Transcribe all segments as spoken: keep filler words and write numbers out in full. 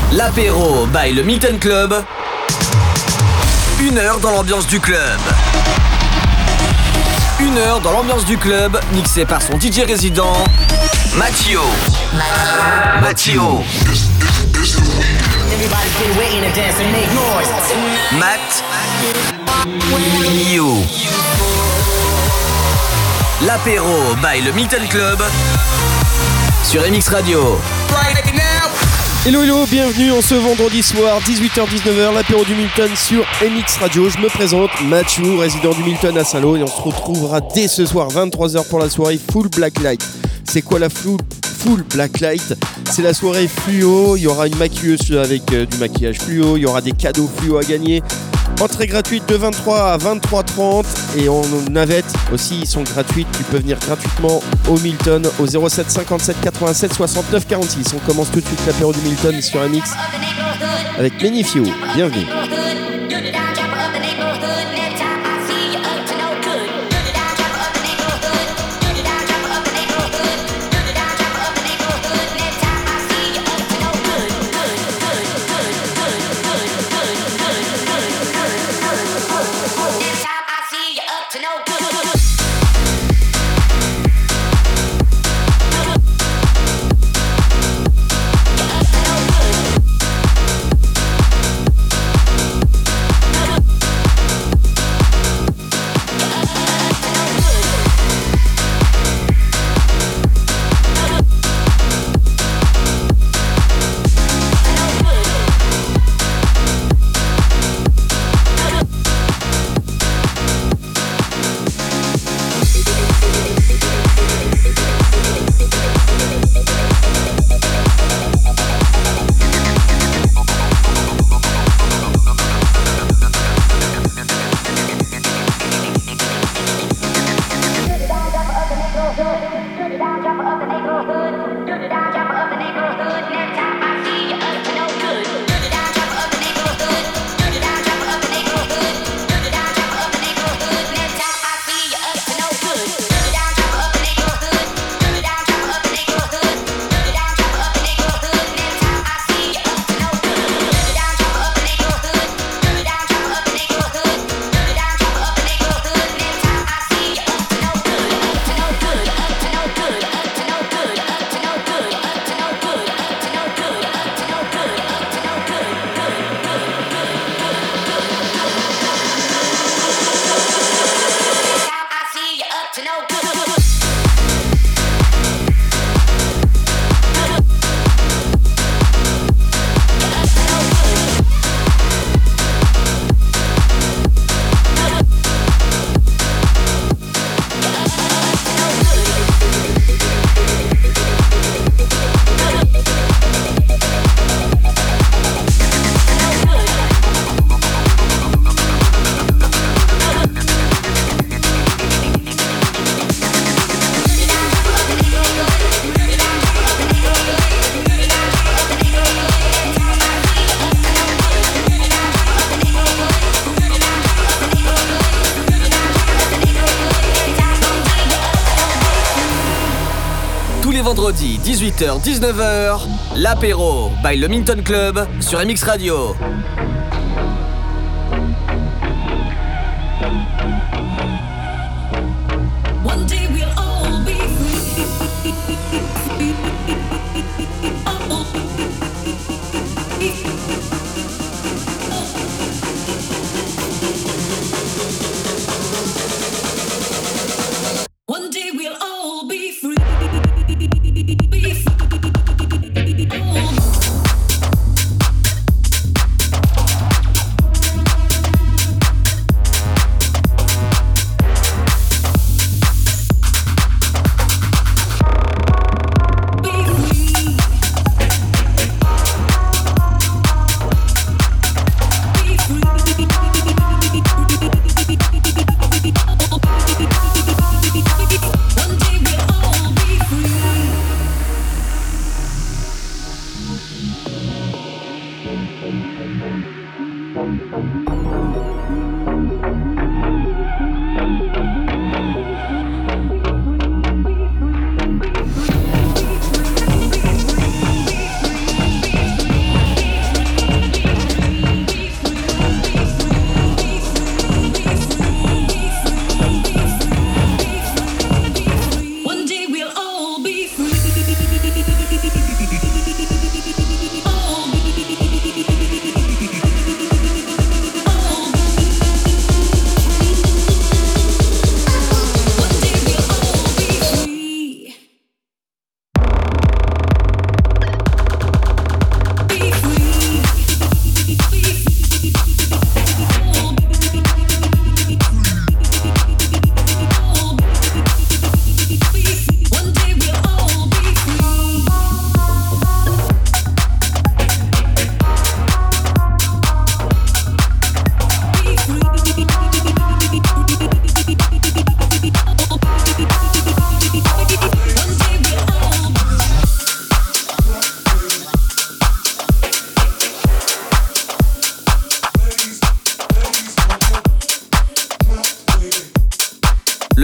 L'apéro by le Milton Club. Une heure dans l'ambiance du club. Une heure dans l'ambiance du club, mixé par son D J résident, Mattio. Mattio. Matt. You. L'apéro by le Milton Club sur M X Radio. Hello hello, bienvenue en ce vendredi soir, dix-huit heures dix-neuf heures, l'apéro du Milton sur M X Radio. Je me présente, Mathieu, résident du Milton à Saint-Lô, et on se retrouvera dès ce soir, vingt-trois heures pour la soirée Full Black Light. C'est quoi la full, full Black Light ? C'est la soirée fluo, il y aura une maquilleuse avec euh, du maquillage fluo, il y aura des cadeaux fluo à gagner. Entrée gratuite de vingt-trois à vingt-trois heures trente et en navette aussi, ils sont gratuites. Tu peux venir gratuitement au Milton au zéro sept cinquante-sept quatre-vingt-sept soixante-neuf quarante-six. On commence tout de suite l'apéro du Milton sur M X avec Menifio. Bienvenue. Vendredi, dix-huit heures dix-neuf heures, l'apéro by le Milton Club sur M X Radio.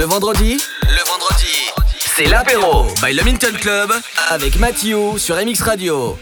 vendredi, le vendredi, c'est l'apéro by le Minton Club avec Mathieu sur M X Radio.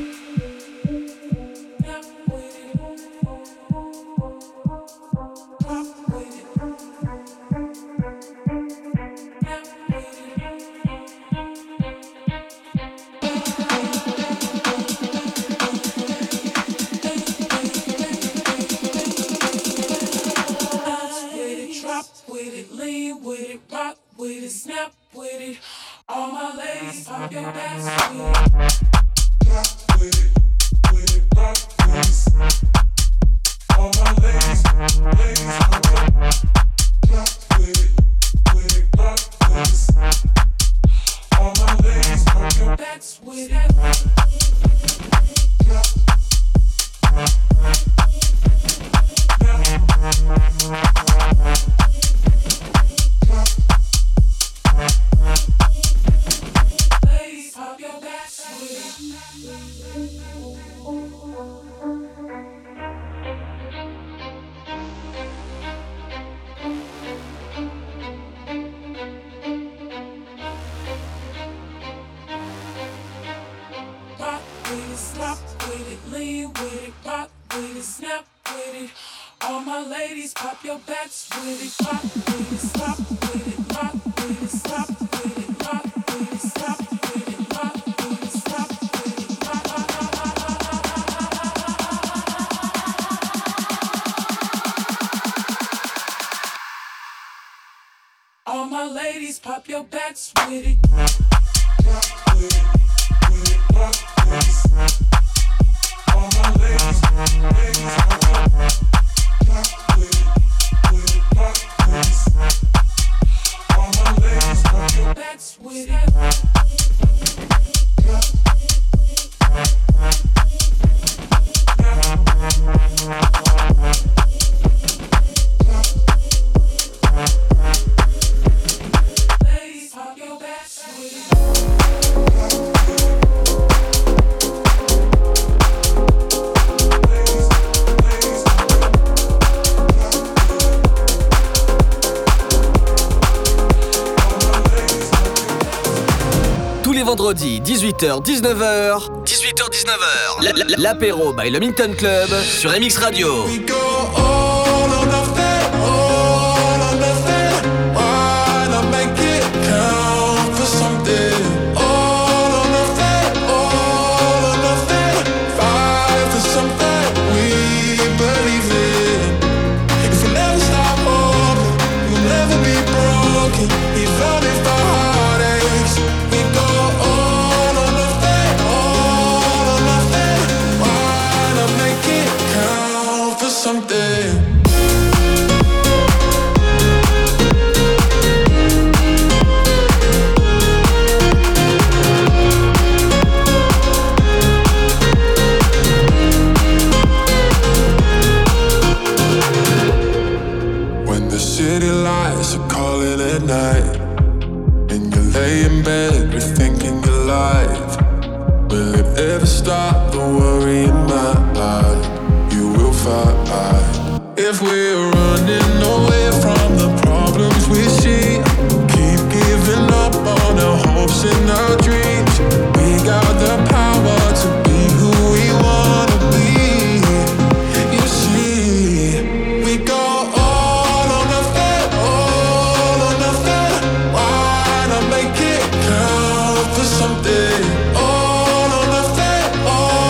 Vendredi, dix-huit heures dix-neuf heures. dix-huit heures dix-neuf heures. L'apéro by le Minton Club sur M X Radio.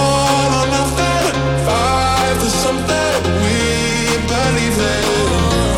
Five to something we believe in.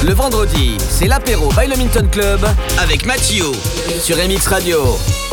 Le vendredi, c'est l'apéro by le Minton Club avec Mathieu sur M X Radio.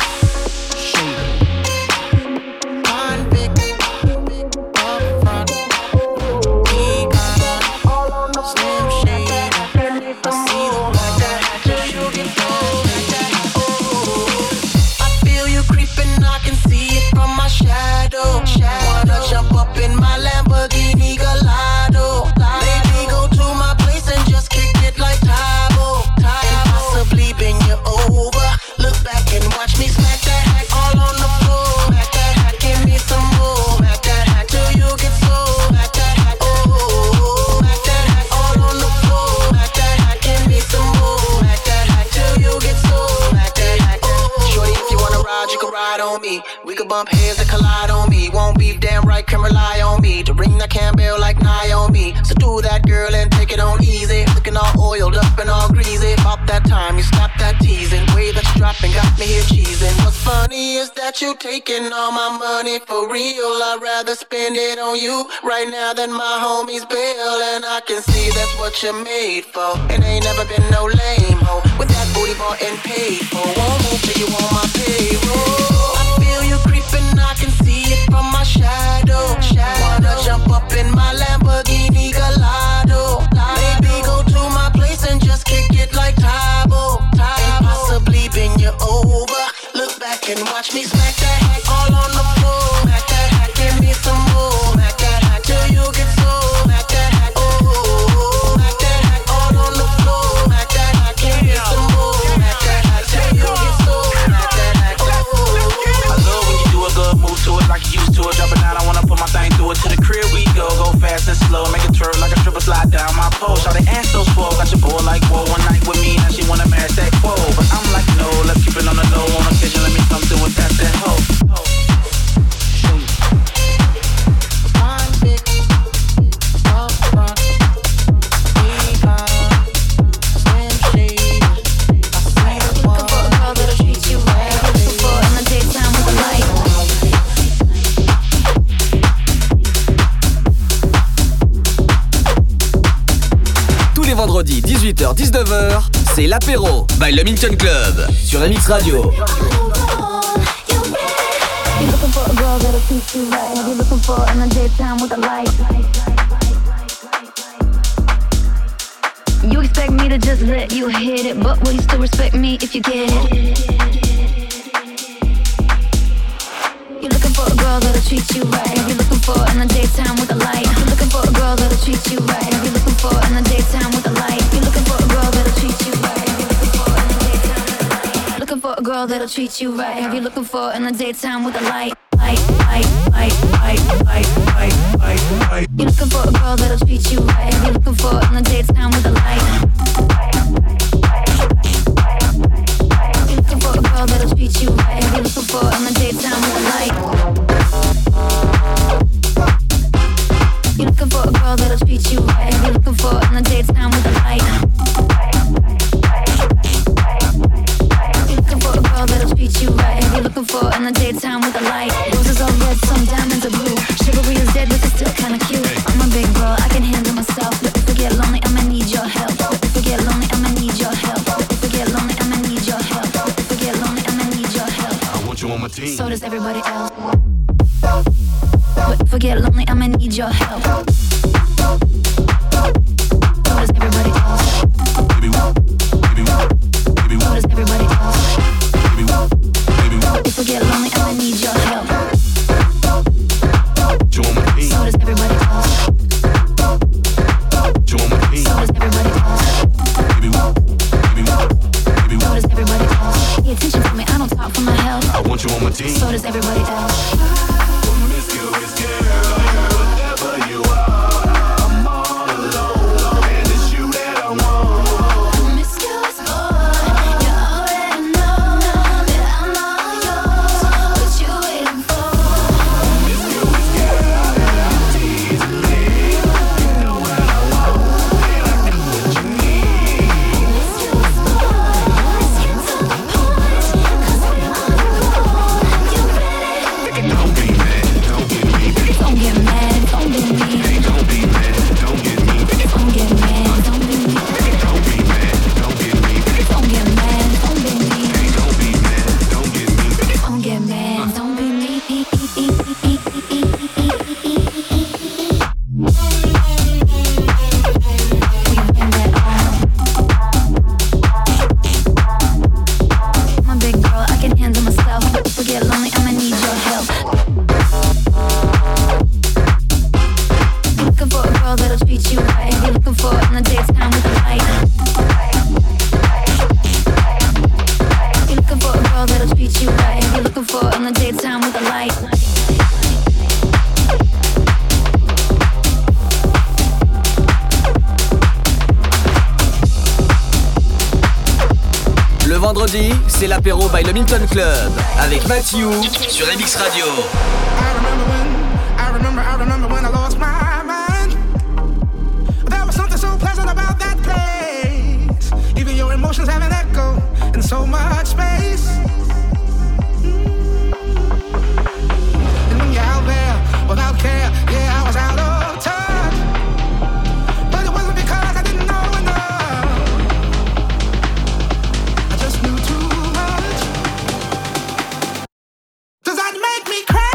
Bump heads that collide on me. Won't beef, damn right, can rely on me to ring that Campbell like Naomi. So do that, girl, and take it on easy. Looking all oiled up and all greasy. About that time you stop that teasing. Way that you dropping got me here cheesing. What's funny is that you taking all my money for real. I'd rather spend it on you right now than my homies bill. And I can see that's what you're made for. And ain't never been no lame hoe with that booty bought and paid for. Won't move till you on my payroll. I can see it from my shadow. Wanna jump up in my Lamborghini Gallardo. Maybe go to my place and just kick it like Tybo. And possibly bend you over. Look back and watch me smack that hack all on the floor. Smack that hack, give me some more. Smack that hack till you get so. Smack that hack, oh. Smack that hack all on the floor. Smack that hack, give me some more. Smack that hack till you get so. Smack that hack, oh. I love when you do a good move to it like you used to it. Drop it down, I wanna put my thing through it. To the crib we go, go fast and slow. Make it twirl like a triple slide down my pole. Shout it ass so swole, got your boy like whoa. One night with me, now she wanna marry that quo. But I'm like no, let's keep it on the low. On occasion, let me come through and tap that hoe. One big up front, we got slim shade. I see the one. Looking for a girl that'll treat you right. Looking for in the daytime with the light. Les vendredis dix-huit heures dix-neuf heures, c'est l'apéro by le Minton Club sur M X Radio. You're looking for a girl that'll treat you right. You're looking for in the daytime with the light. You expect me to just let you hit it, but will you still respect me if you get it? You're looking for a girl that'll treat you right. You're looking for in the daytime with the light. You're looking for a girl that'll treat you right. You're looking for in the daytime with the light. You're looking for a girl that'll treat you right. You're looking for in the daytime with the light. Looking for a girl that'll treat you right. Have you looking for in the daytime with the light? Light, light, light, light, light, light, light, light. You're looking for a girl that'll treat you right. Have you looking for in the daytime with the light? You're looking for a girl that'll treat you right. Have you looking for in the daytime with the light? You're looking for a girl that'll treat you right. Have you looking for in the daytime with the light? You're looking for a girl that'll treat you right. Have you looking for in the daytime with the light? Roses are red, some diamonds are blue. Chivalry is dead, but it's still kinda cute. I'm a big girl, I can handle myself. But if I get lonely, I'ma need your help. If I get lonely, I'ma need your help. If I get lonely, I'ma need your help. If I get lonely, I'ma need your help. I want you on my team. So does everybody else. But if I get lonely, I'ma need your help. So does everybody else. Baby, baby, baby, So does everybody else. baby, baby, But if I get lonely, I'ma need your help. you on my team. So does everybody else. You on my team. So does everybody else. Baby, baby, baby, So does everybody else. Pay attention to me, I don't talk for my health. I want you on my team. So does everybody else. Promiscuous girl, whatever you are, I'm all alone, and it's you that I want. Promiscuous boy, you already know that I'm all yours. What you waiting for? Promiscuous girl, tease me. You know what I want, and I got what you need. Promiscuous boy, let's get to the point. 'Cause I'm on the road. You ready? vendredis, c'est l'apéro by le Minton Club avec Matthew sur M X Radio. I remember when, I remember, I remember when I lost my mind. There was something so pleasant about that place. Even your emotions have an echo in so much space. And when you're out there without care, yeah, I was out of touch. But it wasn't because I didn't know enough. I just knew too much. Does that make me crazy?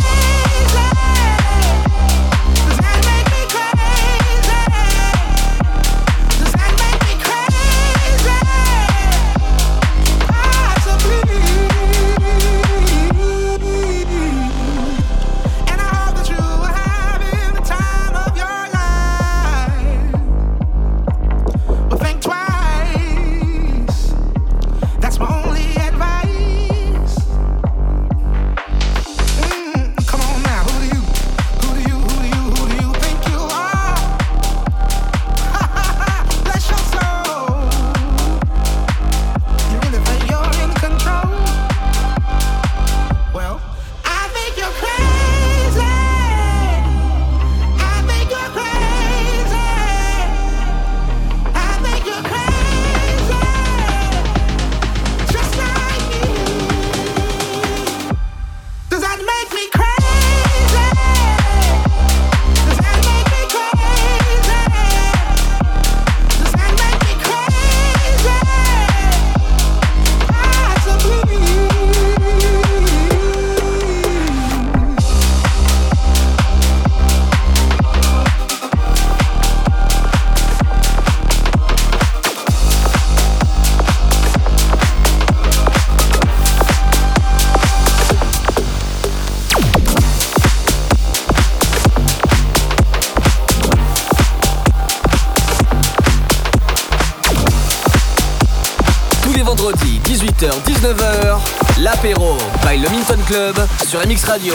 dix-huit heures dix-neuf heures, l'apéro by le Minton Club sur M X Radio.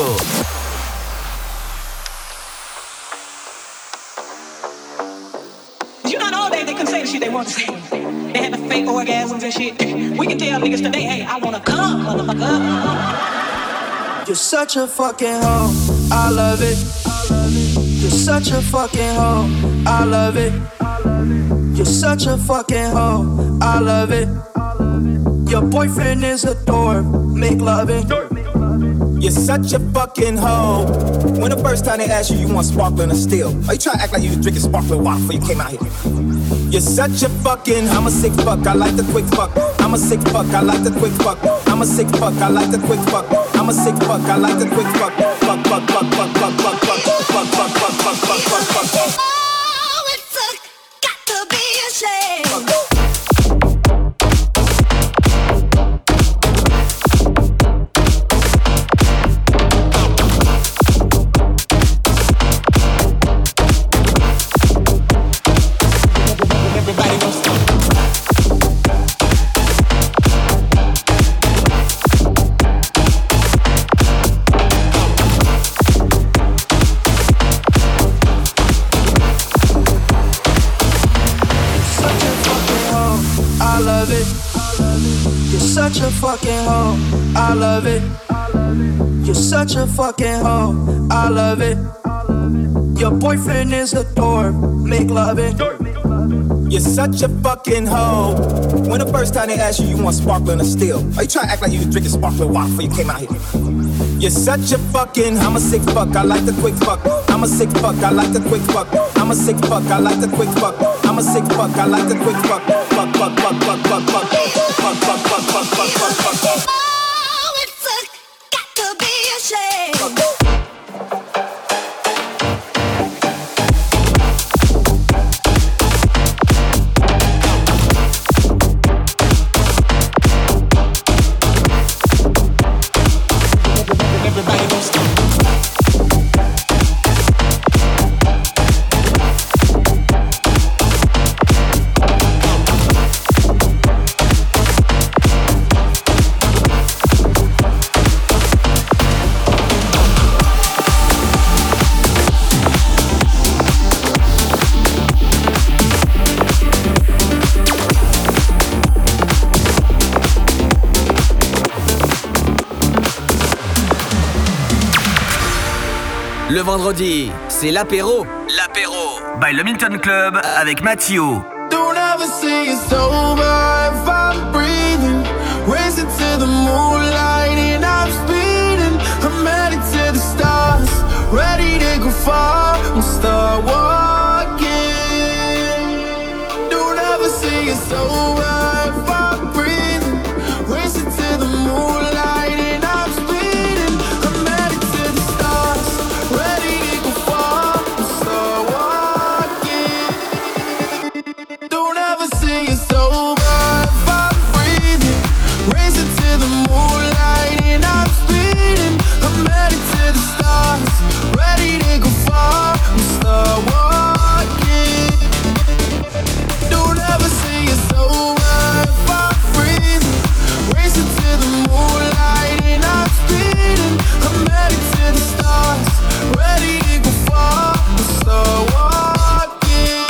You know, all day they couldn't say the shit they want to say. They had the fake orgasms and shit. We can tell niggas today, hey, I wanna come, motherfucker. You're such a fucking hoe, I love it. You're such a fucking hoe, I love it. You're such a fucking hoe, I love it. Your boyfriend is a dork, make loving. You're such a fucking hoe. When the first time they asked you, you want sparkling or still? Why you try to act like you was drinking sparkling water before you came out here? You're such a fucking, I'm a sick fuck, I like the quick fuck. I'm a sick fuck, I like the quick fuck. I'm a sick fuck, I like the quick fuck. I'm a sick fuck, I like the quick fuck. Fuck, fuck, fuck, fuck, fuck, fuck, fuck, fuck, fuck, fuck, fuck, fuck, fuck, fuck. Oh, it's a, got to be a shame. Such a fucking hoe, I love it. You're such a fucking hoe, I love it. Your boyfriend is a dork, make loving. You're such a fucking hoe. When the first time they asked you, you want sparkling or still? Why you try to act like you was drinking sparkling water before you came out here? You're such a fucking, I'm a sick fuck, I like the quick fuck. I'm a sick fuck, I like the quick fuck. I'm a sick fuck, I like the quick fuck. I'm a sick fuck, I like the quick fuck. Fuck, fuck, fuck, fuck, fuck, fuck, fuck, fuck, fuck, fuck, fuck, fuck, fuck, fuck. Oh, it's a, got to be a shame. Le vendredi, c'est l'apéro. L'apéro by le Milton Club avec Mathieu. Don't ever say it's over if I'm breathing. Racing to the moonlight and I'm speeding. I'm headed to the stars, ready to go far and start walking. Don't ever say it's over if I'm breathing. Racing to the moonlight and I'm speeding. I'm headed to the stars, ready to go far and start walking. Don't ever say it's over if I'm breathing. Racing to the moonlight and I'm speeding. I'm headed to the stars, ready to go far and start walking. Don't ever say it's over if I'm breathing. Racing to the moonlight and I'm speeding. I'm headed to the stars, ready to go far and start walking.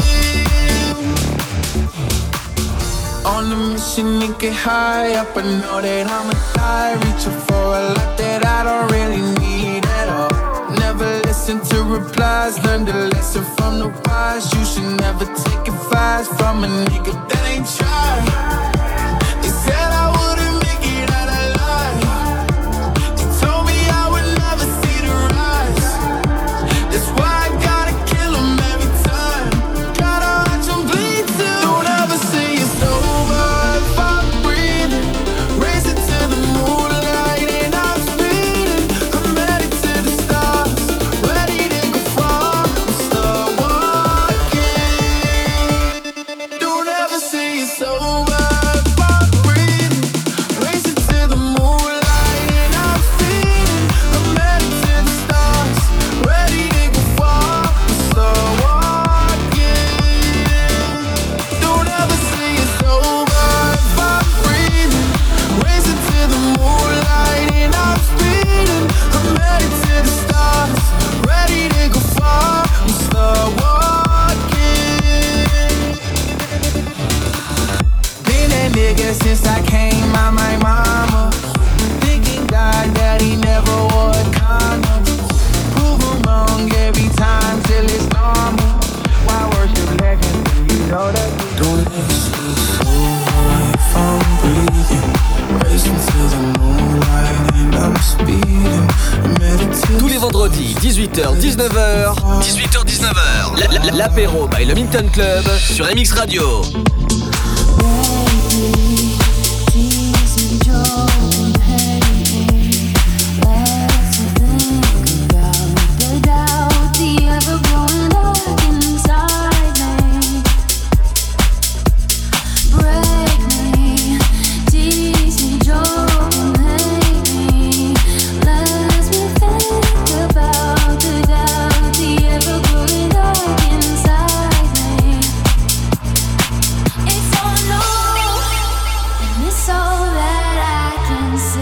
On a mission to get high up, I know that I'ma die, reaching for a lot that I don't really need at all. Never listen to replies, learn the lesson from the wise. You should never take advice from a nigga that ain't tried. They said I wouldn't make it out alive. They told me I would never see the rise. That's why I gotta kill 'em every time. Gotta watch 'em bleed too. Don't ever say it's over if I'm breathing. Racing to the moonlight and I'm speeding. I'm headed to the stars, ready to go far and start walking. Don't ever say it's over if I'm breathing. Racing to the moonlight and I'm speeding. I'm headed to the stars, ready to go far and start walking. Don't ever say it's over if I'm breathing. Racing to the moonlight and I'm speeding. I'm headed to the stars, ready to go far and start walking. Been that nigga since I came out my mama. Thinking God that he never wore a condom. Prove him wrong every time till it's normal. Why worship legends when you know that? Don't ever say it's over if I'm breathing. Racing to the moonlight and I'm speeding. I'm headed to Tous les vendredis, dix-huit heures dix-neuf heures. dix-huit heures dix-neuf heures. La- la- L'apéro by le Milton Club sur M X Radio. It's all that I can see.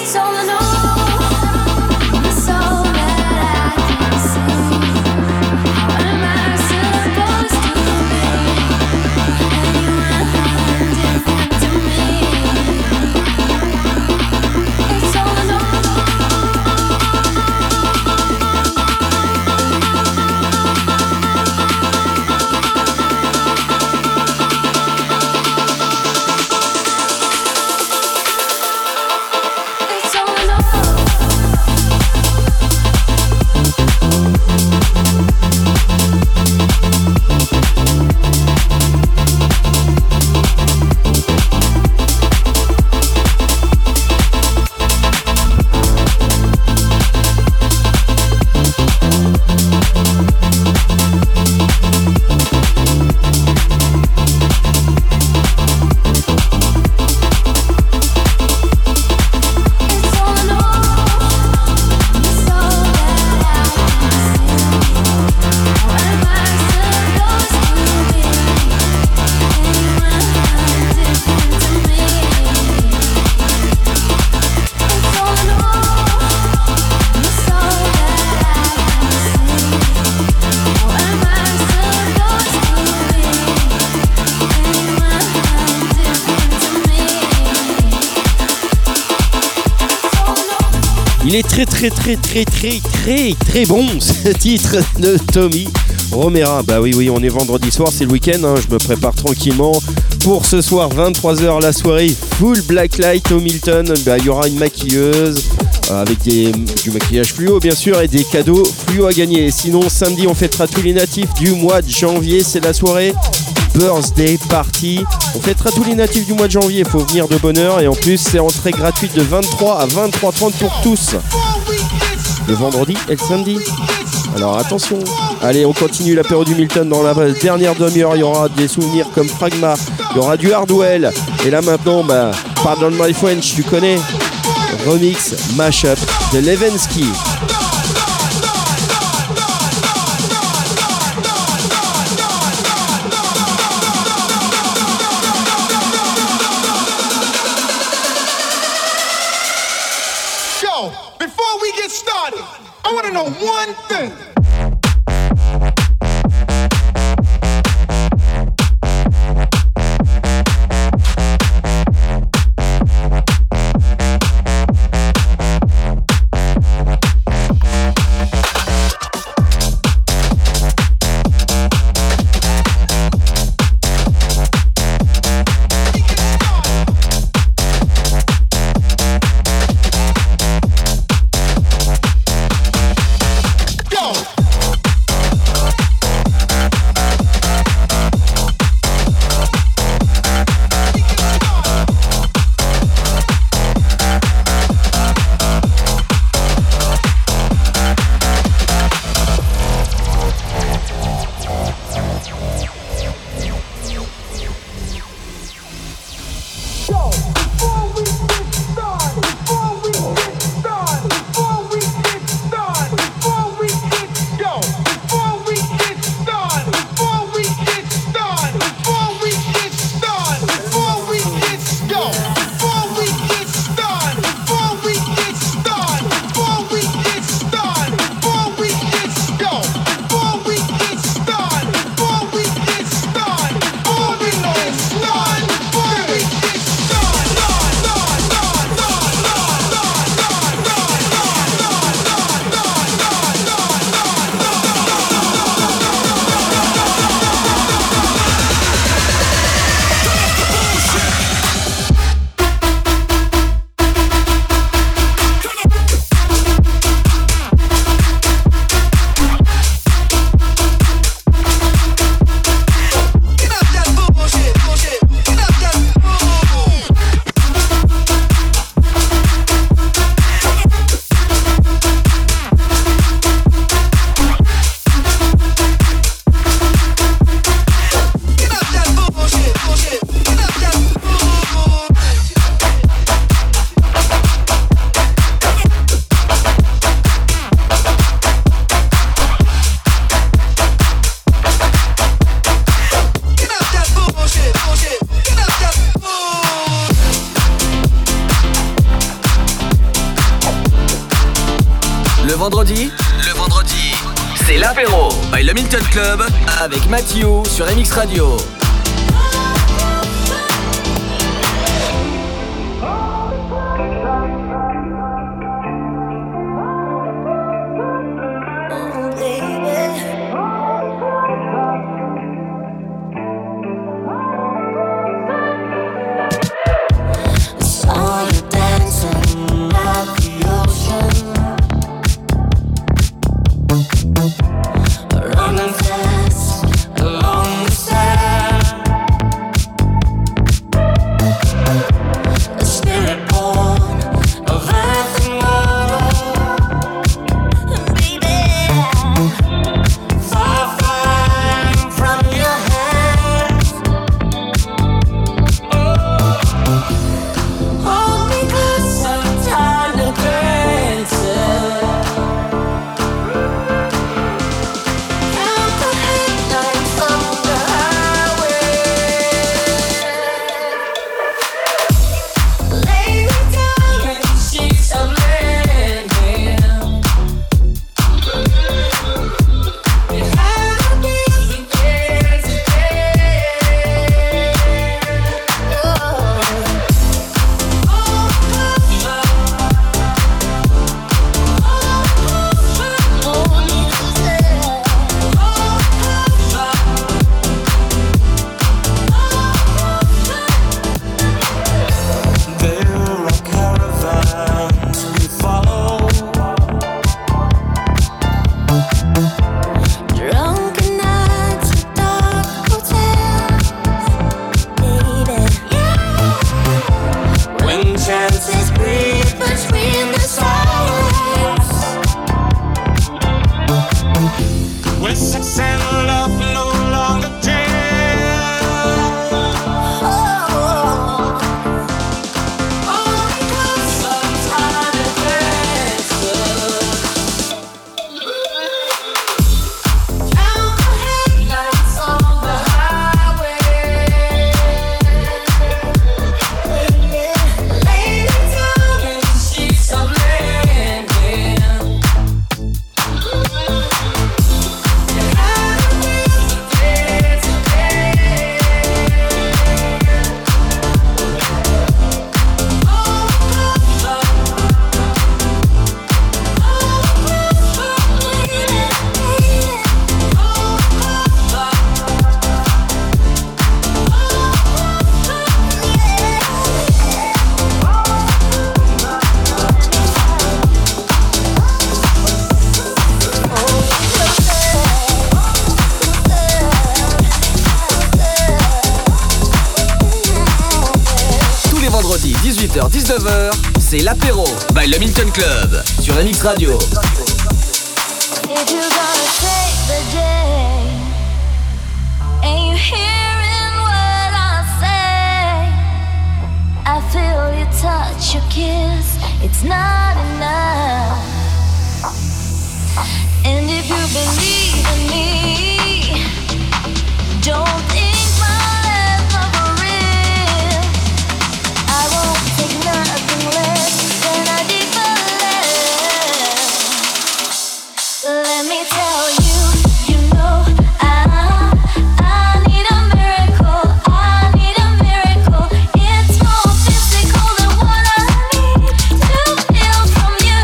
Il est très très très très très très très bon ce titre de Tommy Romera. Bah oui oui, on est vendredi soir, c'est le week-end, hein, je me prépare tranquillement pour ce soir vingt-trois heures la soirée full blacklight au Milton. Bah, il y aura une maquilleuse euh, avec des, du maquillage fluo bien sûr et des cadeaux fluo à gagner. Sinon samedi on fêtera tous les natifs du mois de janvier, c'est la soirée Birthday Party. On fêtera tous les natifs du mois de janvier, il faut venir de bonne heure et en plus c'est entrée gratuite de vingt-trois à vingt-trois heures trente pour tous. Le vendredi et le samedi. Alors attention. Allez, on continue l'apéro du Milton dans la dernière demi-heure. Il y aura des souvenirs comme Fragma, il y aura du Hardwell. Et là maintenant, bah, Pardon My French, tu connais. Remix, mashup de Levensky. Yo, before we get started, I want to know one thing. Go! vendredi, le vendredi, c'est l'apéro by le Milton Club avec Mathieu sur M X Radio. Running fast along the sand. dix-huit heures dix-neuf heures, c'est l'apéro by le Milton Club sur M X Radio. If you're gonna take the day and you're hearing what I say, I feel your touch, your kiss, it's not enough. And if you believe in me, don't think my love for real. I won't take nothing less than a deeper love. Let me tell you, you know I, I need a miracle, I need a miracle. It's more physical than what I need to feel from you.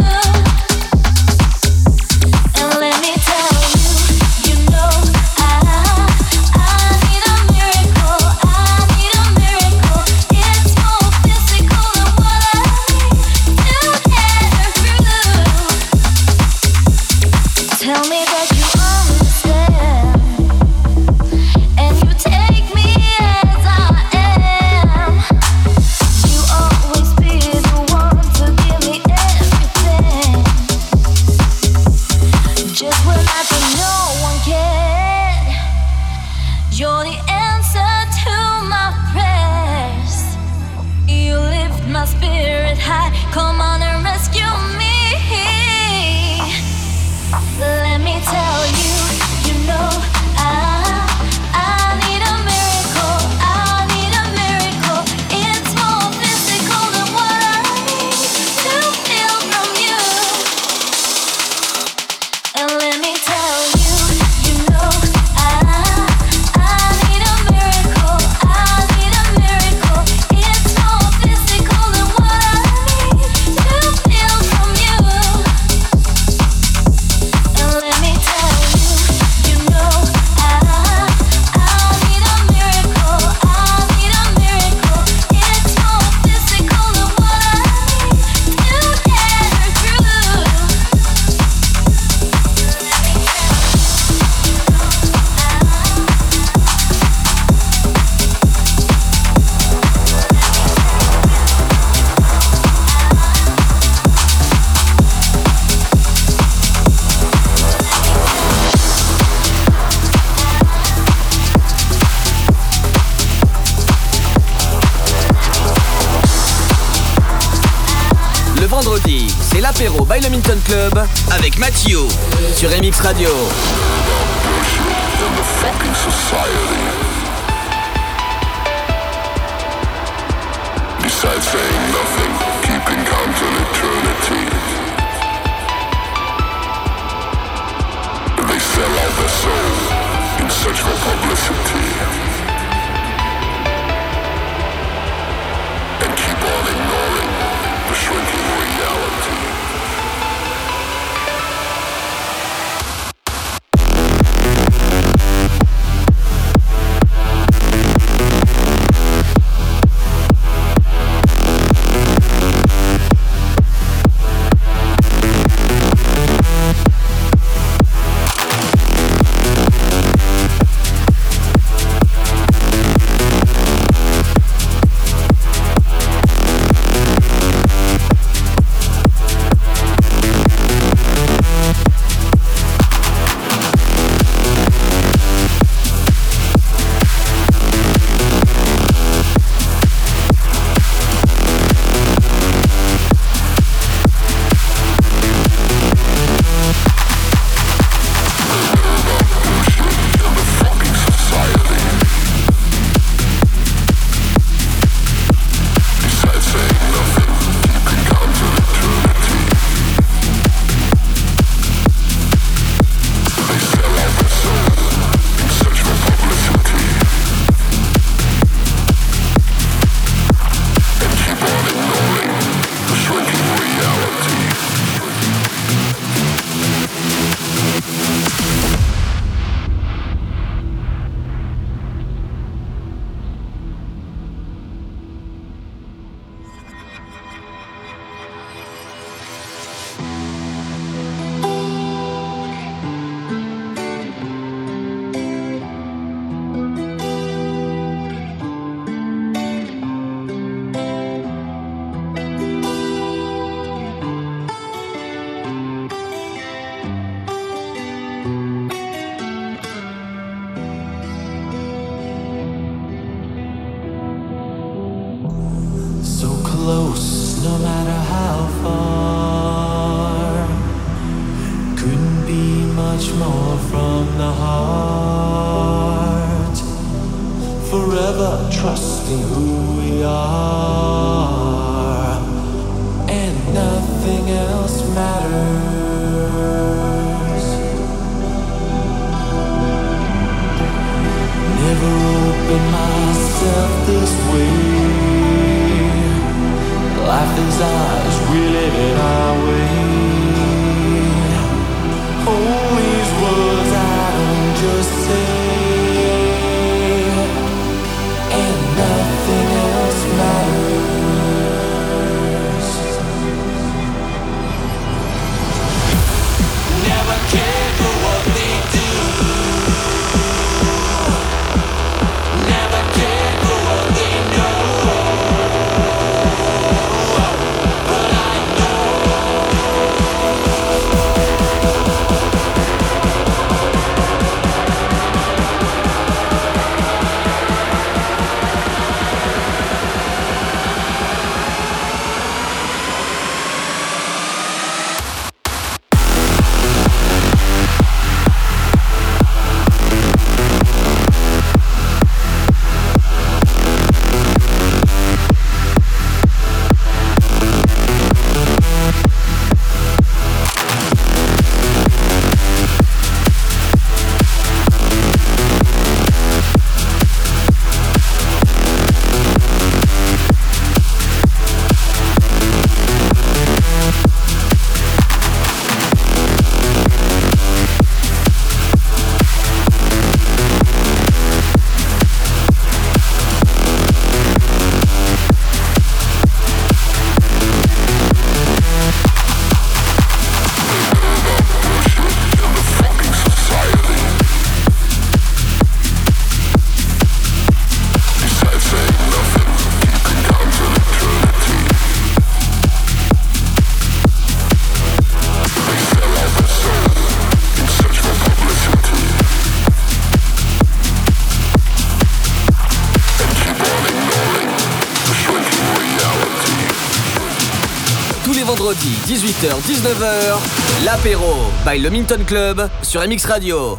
And let me tell you, you know I, I need a Le vendredi, c'est l'apéro by le Minton Club avec Mathieu sur M X Radio. Besides saying nothing, keeping count on eternity. They sell out their soul in search for publicity. And keep on ignoring the shrinking reality. Close, no matter how far. Couldn't be much more from the heart. Forever trusting who we are, and nothing else matters. Never opened myself this way. Life is ours, we live it our way. All these words I don't just say, and nothing else matters. Never cared for what they do. Never cared for what they know. But I know tous les vendredis, dix-huit heures dix-neuf heures, l'apéro by le Minton Club sur M X Radio.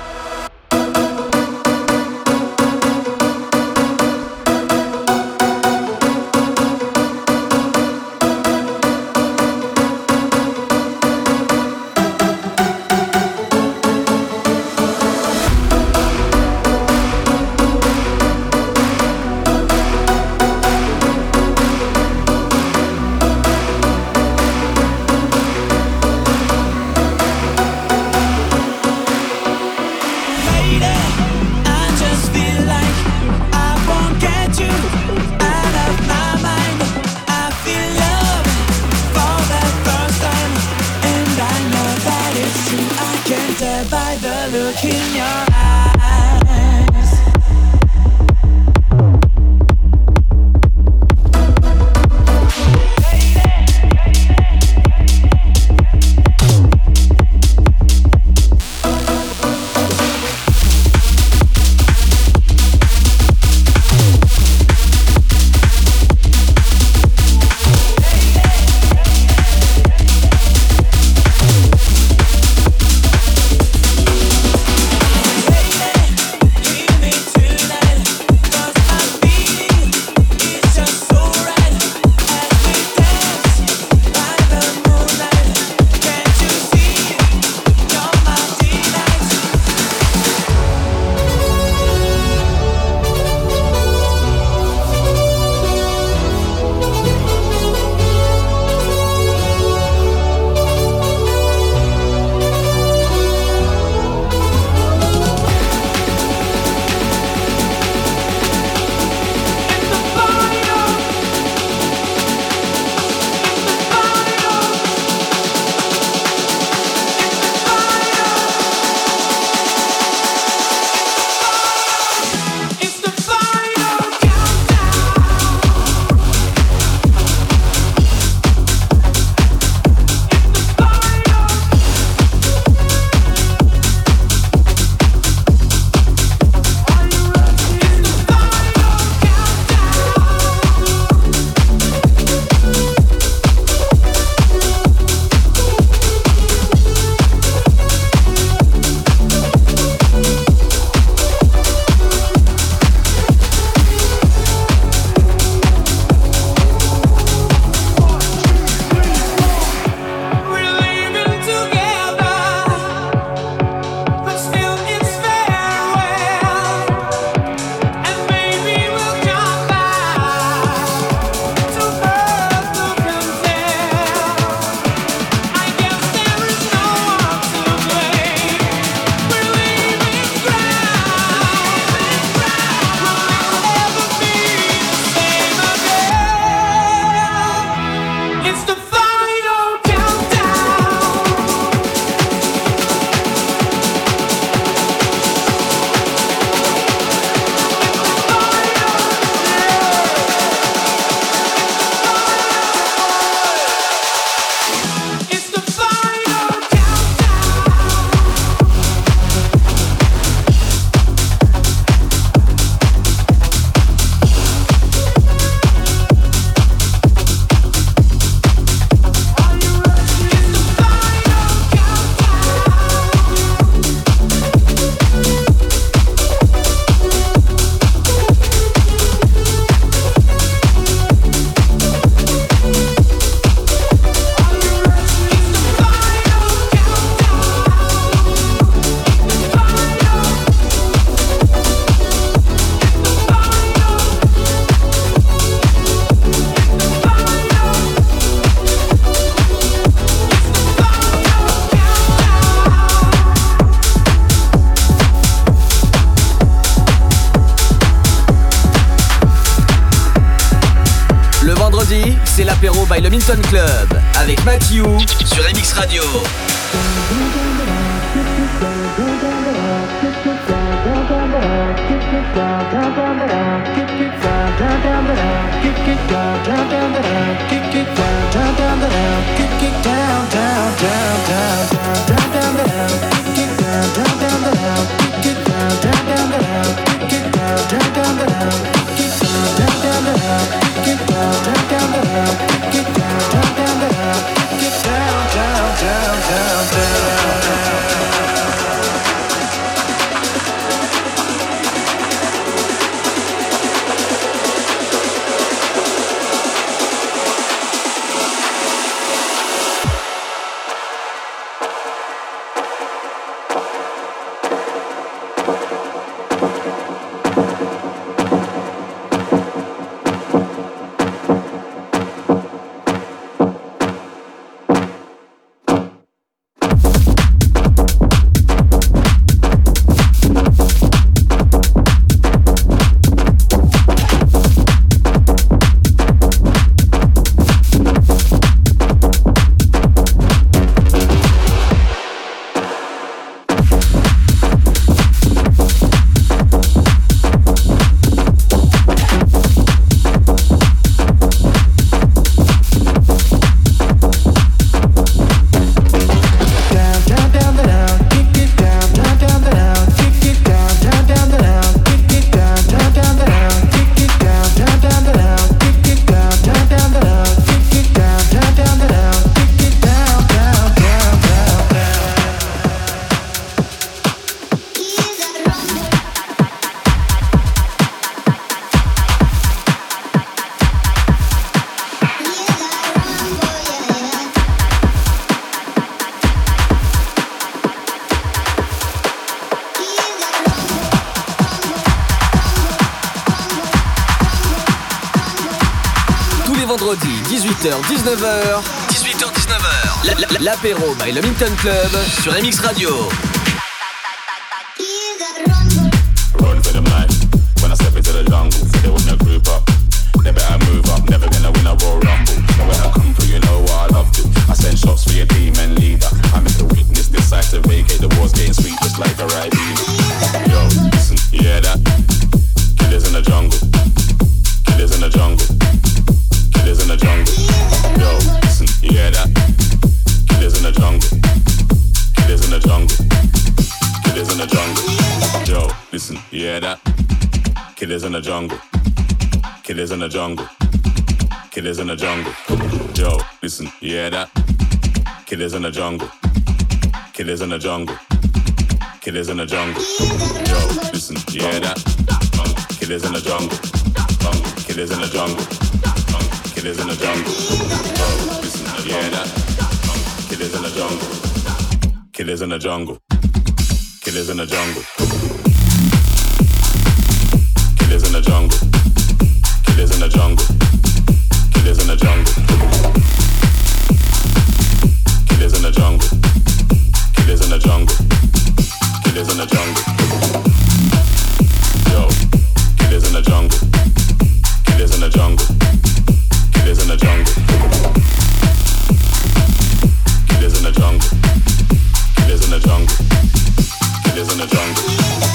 c'est l'apéro by le Minton Club avec Matthew sur M X Radio. Get down, down, down, dix-huit heures dix-neuf heures. dix-huit heures dix-neuf heures. La- la- L'apéro by le Minton Club sur M X Radio. Run for them life. When I step into the jungle, so they wanna group up. They better move up, never gonna win a Royal Rumble. So when I come through, you know what I love to. I send shots for your team and leader. I make the weakness decide to vacate. The war's getting sweet just like a Ribena. Yo, listen, you hear that? Killers in the jungle. Killers in the jungle. Killers in the jungle. Yo, listen, you hear that? Killers in the jungle. Killers in the jungle. Killers in the jungle. Yo, listen, you hear that? Killers in the jungle. Killers in the jungle. Killers in the jungle. Yo, listen, you hear that? Killers in the jungle. Killers in the jungle. Killers in the jungle. Yo, listen, you hear that? Killers in the jungle. Killers in the jungle. Killers in the jungle. Yo, listen, you hear that? Killers in the jungle. Killers in the jungle. Killers in the jungle. Killers in the jungle. Killers in the jungle. Killers in the jungle. Killers in the jungle. Killers in the jungle. Killers in the jungle. Yo, killers in the jungle. Killers in the jungle. Killers in the jungle. Killers in the jungle. Killers in the jungle. Killers in the jungle.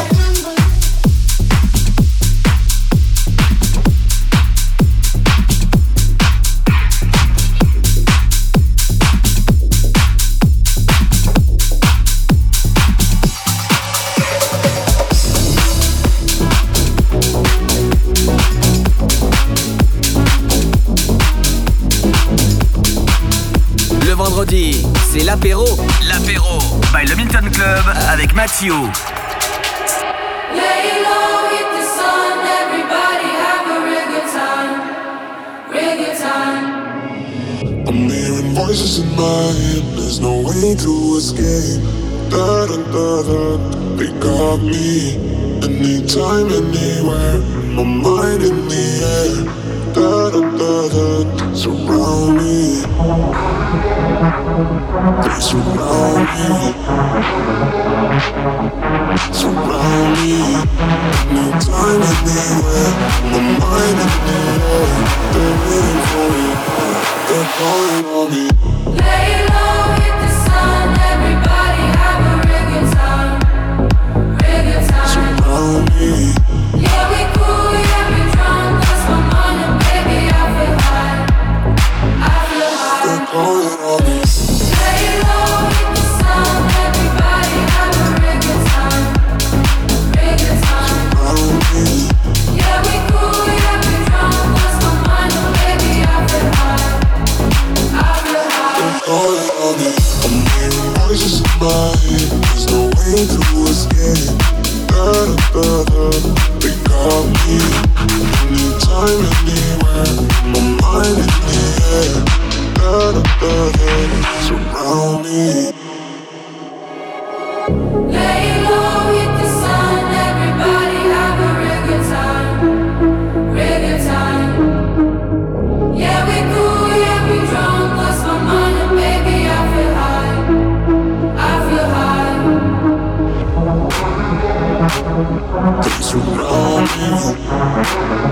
Vendredi, c'est l'apéro. L'apéro by le Minton Club avec Mathieu. Lay low, hit the sun, everybody have a real good time, real good time. I'm hearing voices in my head, there's no way to escape. Da da da da, they got me. Anytime, anywhere, my mind in the air. Da da da da, surround me. They surround me. Surround me. Anytime, anywhere, my mind in the air. They're waiting for me. They're calling on me. Lay low, hit the sun, everybody have a real good time, real good time. Surround me. Yeah, we cool, yeah, we drunk, lost my mind and baby, I feel high, I feel high. They're calling on me. Lay low, hit the sun, everybody have a real good time, real good time. Surround me. Yeah, we cool, yeah, we drunk, lost my mind and baby, I feel high, I feel high. They're calling on me. I'm hearing voices in my head, there's no way to escape. Da da da da, they got me. Anytime, anywhere, my mind in the air. Da da da da, surround me. Lay low, hit the sun, everybody have a real good time, real good time. Yeah, we cool, yeah, we drunk, lost my mind and baby, I feel high, I feel high. They surround me.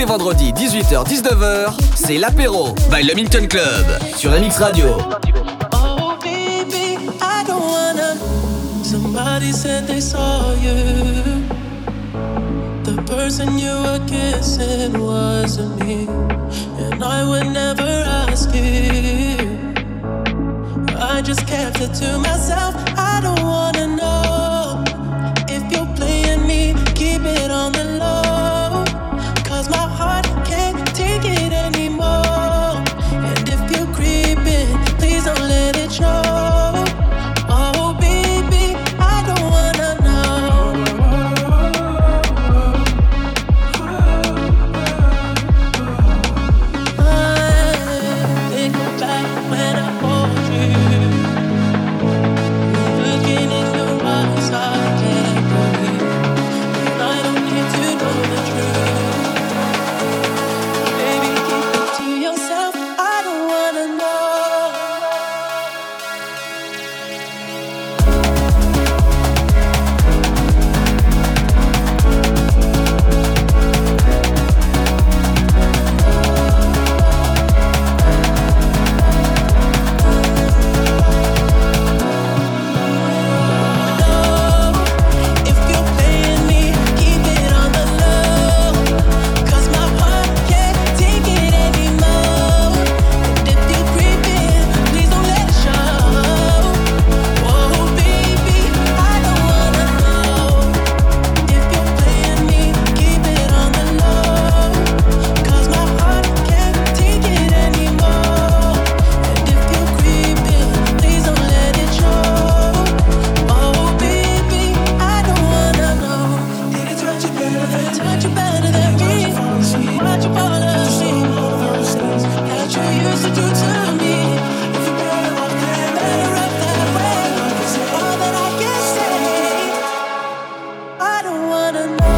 les vendredis dix-huit heures dix-neuf heures, c'est l'apéro by le Milton Club sur M X Radio. Oh baby, I don't wanna. Somebody said they saw you. The person you were kissing wasn't me, and I would never ask you. I just kept it to myself. I don't wanna know if you're playing me. Keep it on the low, 'cause my heart can't take it anymore. And if you're creeping, please don't let it show. Oh baby, I don't wanna know. I think back when I hold you. Looking in your eyes, I can't believe. And I don't need to know the truth. Baby, keep it to yourself. I don't wanna know. If you're playing me, keep it on the low, 'cause my heart can't take it anymore. And if you're creeping, please don't let it show. Oh baby, I don't wanna know. If you're playing me, keep it on the low, 'cause my heart can't take it anymore. And if you're creeping, please don't let it show. Oh baby, I don't wanna know. Did it touch you better? Touch you better than me? Watch you fall asleep. That you used to do to me. If you're better off that, better off that way. All that I can say, I don't wanna know.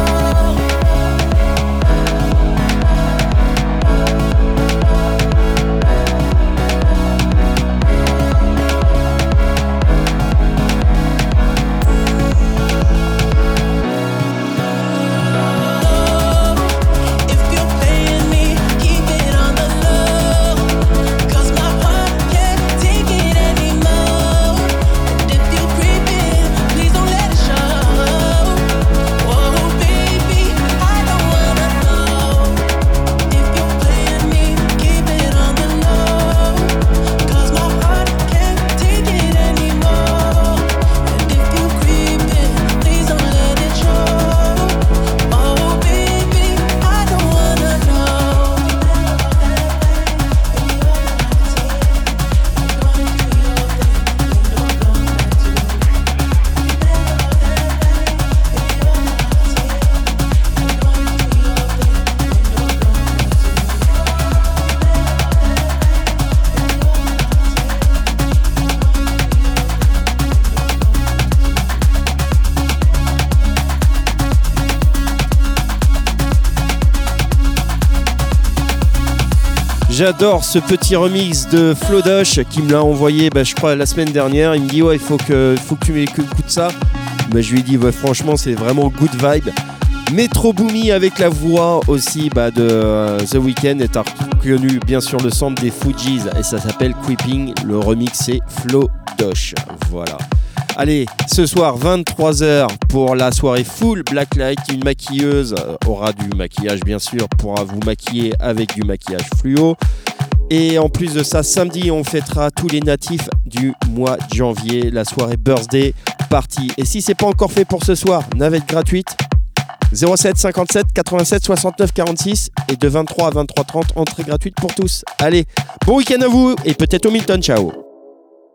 If you're playing me, keep it on the low, 'cause my heart can't take it anymore. And if you're creeping, please don't let it show. Oh baby, I don't wanna know. If you're playing me, keep it on the low, 'cause my heart can't take it anymore. And if you're creeping, please don't let it show. Oh baby, I don't wanna know. J'adore ce petit remix de Flodosh qui me l'a envoyé, bah, je crois, la semaine dernière. Il me dit, ouais, il faut que, faut que tu écoutes ça. Bah, je lui ai dit, ouais, franchement, c'est vraiment good vibe. Metro Boomy avec la voix aussi bah, de euh, The Weeknd est reconnu bien sûr le sample des Fugees et ça s'appelle Creeping. Le remix c'est Flodosh. Voilà. Allez, ce soir vingt-trois heures pour la soirée full Blacklight. Une maquilleuse aura du maquillage bien sûr, pourra vous maquiller avec du maquillage fluo. Et en plus de ça, samedi on fêtera tous les natifs du mois de janvier, la soirée birthday party. Et si c'est pas encore fait pour ce soir, navette gratuite zéro sept cinquante-sept quatre-vingt-sept soixante-neuf quarante-six et de vingt-trois à vingt-trois trente, entrée gratuite pour tous. Allez, bon week-end à vous et peut-être au Milton, ciao.